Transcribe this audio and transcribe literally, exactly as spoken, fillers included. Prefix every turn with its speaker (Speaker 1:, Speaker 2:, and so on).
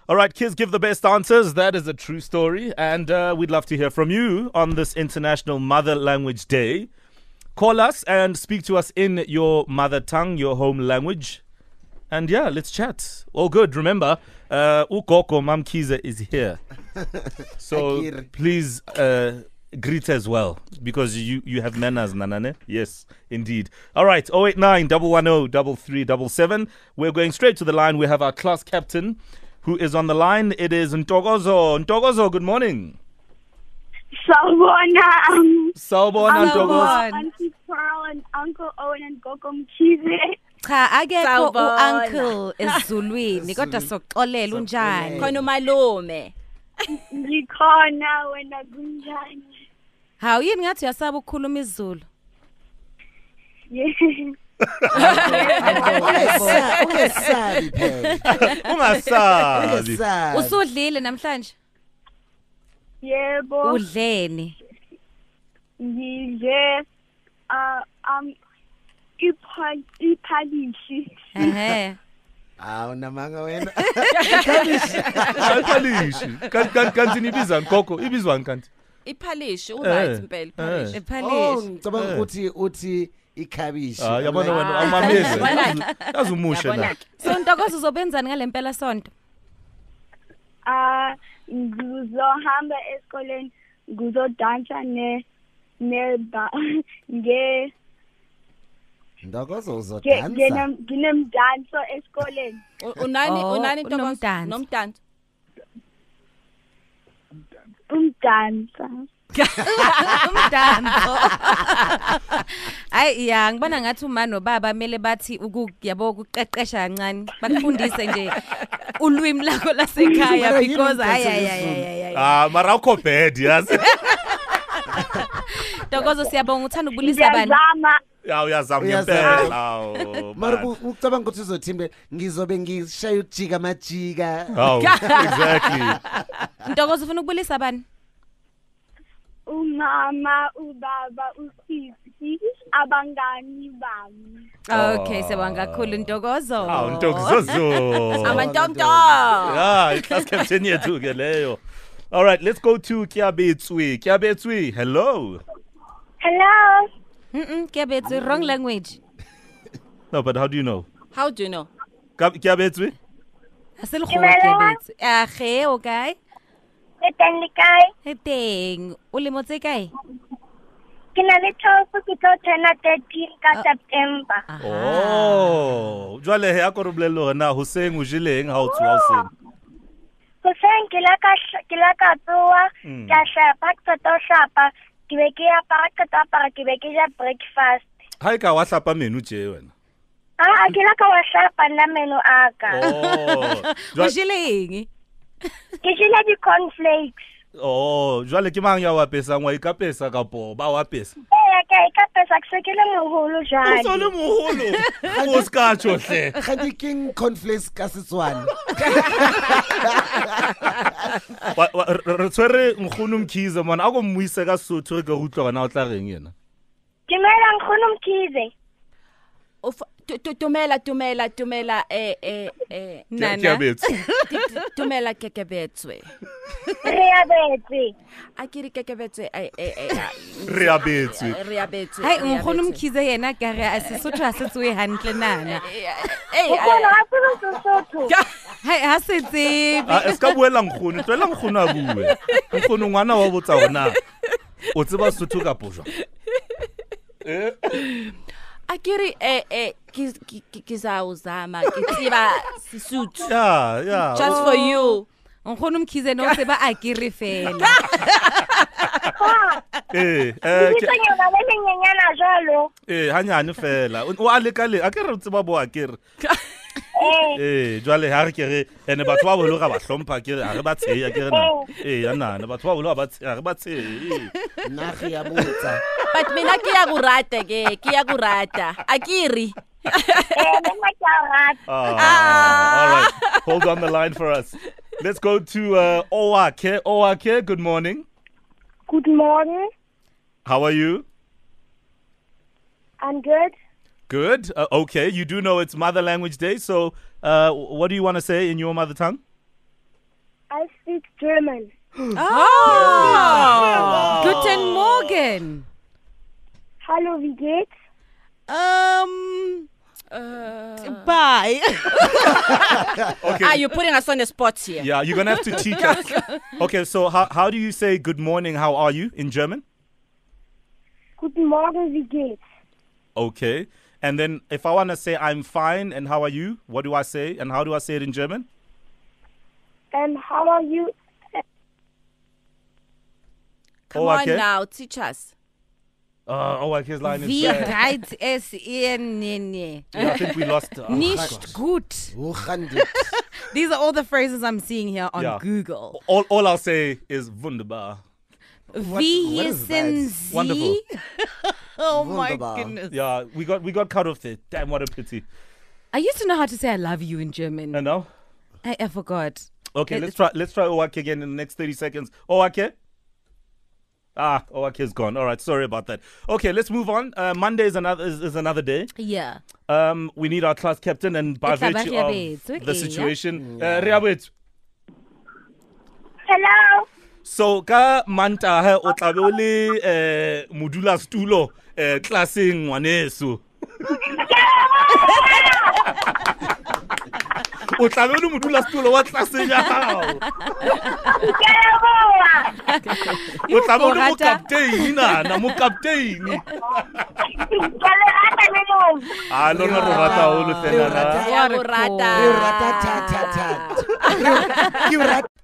Speaker 1: All right, kids, give the best answers. That is a true story. And uh, we'd love to hear from you on this International Mother Language Day. Call us and speak to us in your mother tongue, your home language. And yeah, let's chat. All good. Remember, uh, Ukoko Mam Kiza is here. So please uh, greet as well, because you, you have manners, Nanane. Yes, indeed. All right, oh eight nine, one one zero, three three seven seven. We're going straight to the line. We have our class captain who is on the line. It is Ntokozo. Ntokozo, good morning.
Speaker 2: Sawubona. Um,
Speaker 1: Sawubona, Ntokozo.
Speaker 2: Auntie Pearl and Uncle Owen and Gogo Mkhize.
Speaker 3: Cha akekho u-uncle esiZulwini kodwa sokuxolela unjani
Speaker 4: khona umalume
Speaker 2: Ngikhona wena kunjani?
Speaker 3: Hawu yini ngathi uyasaba ukukhuluma isiZulu?
Speaker 5: Ungesabi phela.
Speaker 1: Ungasabi.
Speaker 3: Usudlile namhlanje?
Speaker 2: Yebo.
Speaker 3: Udleni?
Speaker 2: Ngidle uh um iphal iphalishi.
Speaker 3: Ehe.
Speaker 5: Awu namanga wena.
Speaker 1: Iphalishi. Kanti kanti nibiza Nkoko, ibizwa kanti?
Speaker 4: Iphalishi uright impela iphalishi.
Speaker 3: Iphalishi.
Speaker 5: Oh, ngicabanga ukuthi uthi ikhabishi.
Speaker 1: Ah, yabona wena awumameze. Yazumushe na.
Speaker 3: So Ntokozo uzobenzani ngalempela sonto?
Speaker 2: Ah, ngizohamba esikoleni, ngizodansa ne ne nge
Speaker 5: Ntokozo uzodansa.
Speaker 2: Ngine nginemdanso esikoleni.
Speaker 4: Unani unani Ntokozo nomdanso.
Speaker 2: Umdansa.
Speaker 3: Umdanso. Hayi ya ngibona ngathi uma nobaba mele bathi ukuyabo ukuqeqesha kancane bakufundise nje ulwimi lakho lasekhaya because hayi hayi
Speaker 1: ah mara ukho bad yazi.
Speaker 3: Ntokozo siyabonga uthanda ukubulisa bani?
Speaker 2: Ngiyazama.
Speaker 1: Ya uyazama ngempela. Awu.
Speaker 5: Mara ucabanga ukuthi uzothimbe ngizobe ngishaya ujika amajika.
Speaker 1: Oh, exactly.
Speaker 3: Ntokozo ufuna ukubulisa bani?
Speaker 2: Umama, ubaba, usisi, abangani bami.
Speaker 3: Okay, siyabonga kakhulu Ntokozo.
Speaker 1: Awu Ntokozo.
Speaker 4: Amantomto.
Speaker 1: Yeah, i-class captain yethu ke leyo. All right, let's go to Kiabetswi. Kiabetswi, hello.
Speaker 2: Hello.
Speaker 3: Mm-mm, Kiabetswi, wrong language.
Speaker 1: No, but how do you know?
Speaker 4: How do you know?
Speaker 1: Kiabetswi?
Speaker 3: Aselgo Kiabetswi. Ah, ge, okay.
Speaker 2: Eteng le kae?
Speaker 3: Eteng, o le motse kae?
Speaker 2: Ke na le twelve ke tlo tsena thirteen ka September.
Speaker 1: Oh, jwale he akoro bolelo na ho seng o jileng ha o tswa o seng.
Speaker 2: Ho seng ke la ka ke la ka tsoa, ka shapa ka tso shapa, ke be ke ya para ka tsa para ke be ke ja breakfast.
Speaker 1: Ha e ka wa hlapa menu je wena.
Speaker 2: Ah, ke la ka wa shapa na menu aka.
Speaker 1: Oh.
Speaker 3: O jileng?
Speaker 2: Ke jile di cornflakes.
Speaker 1: Oh, jwale ke mang ya wa pesa ngwa ikapesa ka po ba wa pesa.
Speaker 2: Eh, ke ikapesa ke se ke le moholo jale.
Speaker 1: O so le moholo. O ska tsohle.
Speaker 5: Ga di king cornflakes ka Setswana.
Speaker 1: Re tswere Nkgono Mkhize mona a go mmuise ka Sotho ka utlwa na o tla reng yena.
Speaker 2: Dumela Nkgono Mkhize.
Speaker 4: Tumela tumela tumela eh eh eh
Speaker 3: Nana.
Speaker 4: Tumela Kekebetswe.
Speaker 2: Reabetswe.
Speaker 4: Akiri Kekebetswe eh eh
Speaker 1: Reabetswe.
Speaker 4: Reabetswe.
Speaker 3: Hai Nkgono Mkhize yena ka re a Sesotho a se tswe hantle nana.
Speaker 4: Eh
Speaker 2: Nkgono ha se Sesotho.
Speaker 3: Hai ha se tsebe.
Speaker 1: Ah eska buela Nkgono, tswela Nkgono a bue. Nkgono ngwana wa botsa ona. O tseba Sesotho ka pojwa. Eh
Speaker 4: Akiri eh eh kizawuzama kitsiba Sesotho.
Speaker 1: Yeah, yeah.
Speaker 4: Just for you.
Speaker 3: Nkgono Mkhize no tseba akiri fela.
Speaker 1: Eh eh
Speaker 2: ke tsenya le lenyenyana jalo.
Speaker 1: Eh hanyane fela. O a le ka le akere tseba bo akere. Eh jwale ha re ke re ene batho ba bolo ga ba hlompha ke re a re ba tsheya ke re na. Eh yana na batho ba bolo ba tsheya re ba tsheya.
Speaker 5: Nagi ya botsa.
Speaker 4: But mina ke ya kurata ke ke ya kurata. Akiri.
Speaker 2: Eh, nna ke a rata.
Speaker 1: Ah, all right. Hold on the line for us. Let's go to uh, Owake. Owake, good morning.
Speaker 2: Good morning.
Speaker 1: How are you?
Speaker 2: I'm good.
Speaker 1: Good. Uh, okay, you do know it's Mother Language Day, so uh, what do you want to say in your mother tongue?
Speaker 2: I speak German.
Speaker 3: Oh. Guten Morgen.
Speaker 2: Hallo, wie geht's?
Speaker 3: Um.
Speaker 4: Uh,
Speaker 3: Bye.
Speaker 1: Okay.
Speaker 4: ah, you're putting us on the spot here.
Speaker 1: Yeah, you're gonna have to teach us. Okay, so how how do you say good morning? How are you in German?
Speaker 2: Guten Morgen, wie geht's?
Speaker 1: Okay, and then if I wanna say I'm fine and how are you? What do I say and how do I say it in German?
Speaker 2: And how are you?
Speaker 4: Come
Speaker 1: Oh,
Speaker 4: on
Speaker 1: okay.
Speaker 4: now, teach us.
Speaker 1: Uh, oh, okay, his line is
Speaker 3: Wie
Speaker 1: bad.
Speaker 3: geht es Ihnen?
Speaker 1: Yeah, I think we lost. Uh,
Speaker 3: Nicht gut.
Speaker 5: Hoe gaan dit?
Speaker 3: These are all the phrases I'm seeing here on
Speaker 1: Yeah.
Speaker 3: Google.
Speaker 1: all all I'll say is wunderbar.
Speaker 3: Wie
Speaker 5: what is that?
Speaker 3: heißen Sie?
Speaker 1: Wonderful.
Speaker 3: Oh my
Speaker 5: Wunderbar.
Speaker 3: goodness.
Speaker 1: Yeah, we got we got cut off there. Damn, what a pity.
Speaker 3: I used to know how to say I love you in German.
Speaker 1: And now,
Speaker 3: I, I forgot.
Speaker 1: okay,
Speaker 3: It-
Speaker 1: let's try let's try Owake again in the next thirty seconds. Owake. Ah, Owake's gone. All right, sorry about that. Okay, let's move on. Uh, Monday is another is, is another day.
Speaker 3: Yeah.
Speaker 1: Um, we need our class captain, and by
Speaker 3: It's a
Speaker 1: virtue
Speaker 3: Barriabethu,
Speaker 1: of the
Speaker 3: okay,
Speaker 1: situation, uh, Riabethu.
Speaker 2: Hello.
Speaker 1: So ka Mantaha o tla be o le eh modula stulo eh classeng ngwaneso. O tla be o le modula stulo wa classeng ya hao.
Speaker 2: Ke a leboha.
Speaker 1: O tla be o le mo
Speaker 3: Rata.
Speaker 1: captain na na mo captain.
Speaker 2: Ke le rata le lona.
Speaker 1: Ah lona ro rata o le
Speaker 5: Re o
Speaker 1: fela.
Speaker 5: rata.
Speaker 4: Ya
Speaker 3: What a
Speaker 4: go rata.
Speaker 5: Re o rata thata thata. Ke o rata